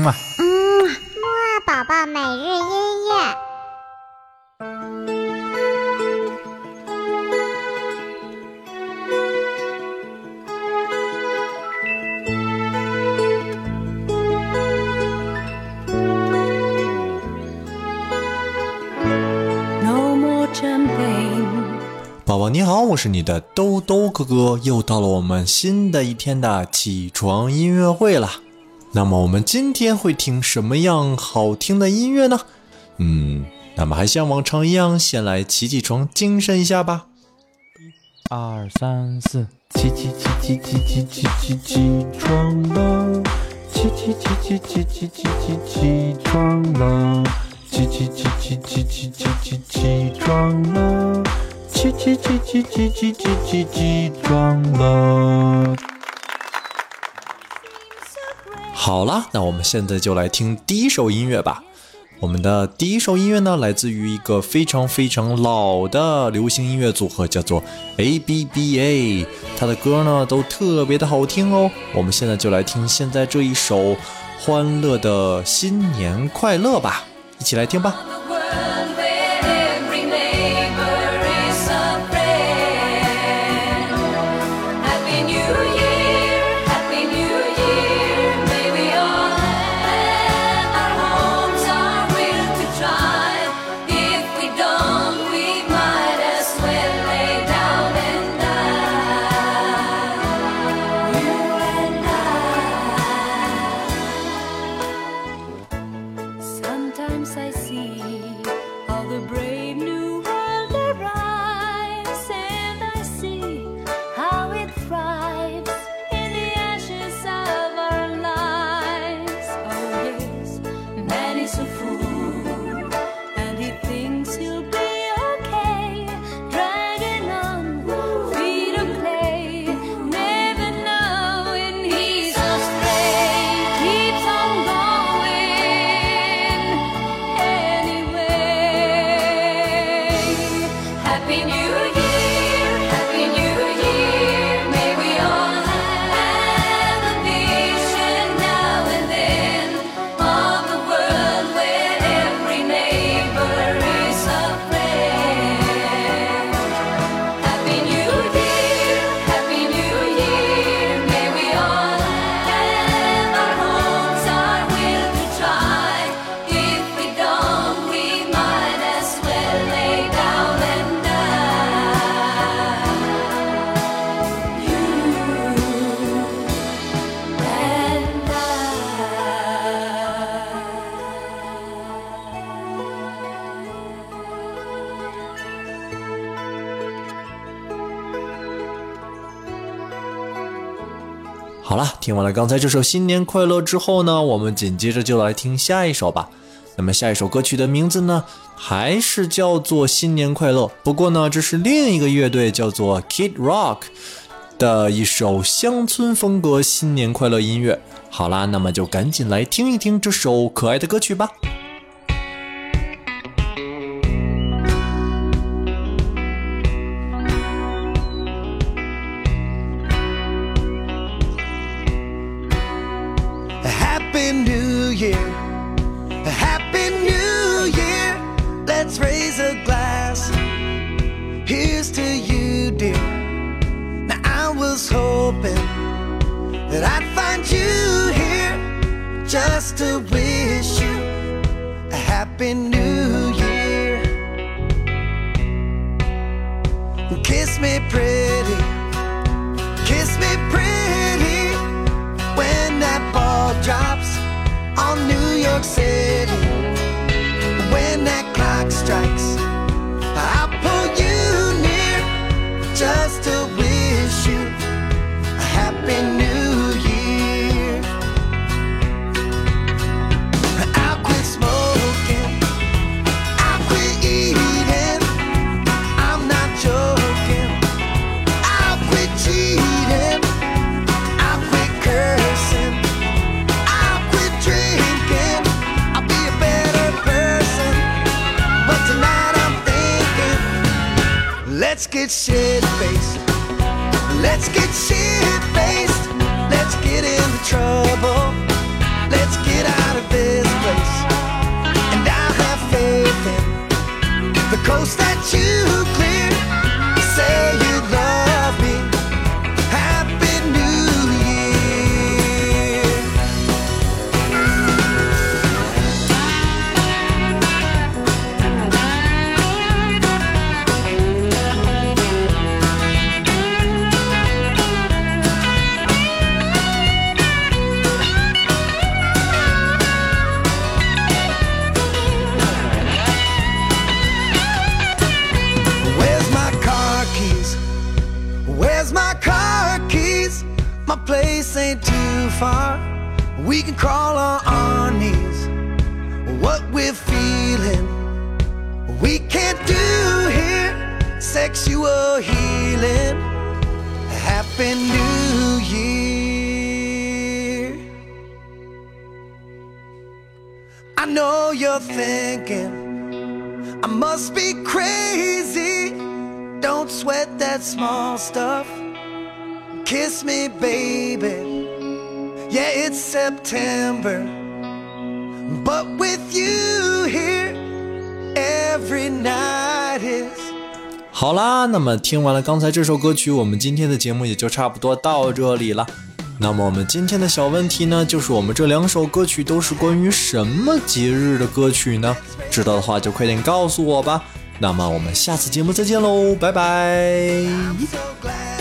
木啊宝宝每日音乐。 宝宝你好，我是你的兜兜哥哥，又到了我们新的一天的起床音乐会了。那么我们今天会听什么样好听的音乐呢？那么还像往常一样，先来起床精神一下吧。 1、2、3、4，起床了，起床了，起床了，起床了。 好了，那我们现在就来听第一首音乐吧。我们的第一首音乐呢，来自于一个非常非常老的流行音乐组合，叫做 ABBA。它的歌呢都特别的好听哦。我们现在就来听现在这一首欢乐的新年快乐吧，一起来听吧。好了，听完了刚才这首新年快乐之后呢，我们紧接着就来听下一首吧。那么下一首歌曲的名字呢，还是叫做新年快乐，不过呢，这是另一个乐队叫做 Kid Rock 的一首乡村风格新年快乐音乐。好啦，那么就赶紧来听一听这首可爱的歌曲吧。 Happy New Year, let's raise a glass. Here's to you, dear. Now I was hoping that I'd find you here just to wish you a Happy New Year. Kiss me pretty, kiss me pretty, when that ball drops on New York City. When that clock strikes, I'll pull you near just to wish you a Happy New Year. I'll quit smoking, I'll quit eating, I'm not joking. I'll quit cheating, I'll quit cursing, let's get shit-faced, let's get shit-faced, let's get into trouble, let's get out of too clear. Say you love me. Happy New Year. Where's my car keys? Where's my car keys? My place ain't too far. We can crawl on our knees. What we're feeling, we can't do here. Sexual healing. Happy New Year. I know you're thinking I must be crazy. Don't sweat that small stuff. Kiss me, baby. Yeah, it's September, but with you here, every night is. 好啦，那么听完了刚才这首歌曲，我们今天的节目也就差不多到这里了。那么我们今天的小问题呢，就是我们这2首歌曲都是关于什么节日的歌曲呢？知道的话就快点告诉我吧。那么我们下次节目再见喽，拜拜。 I'm so glad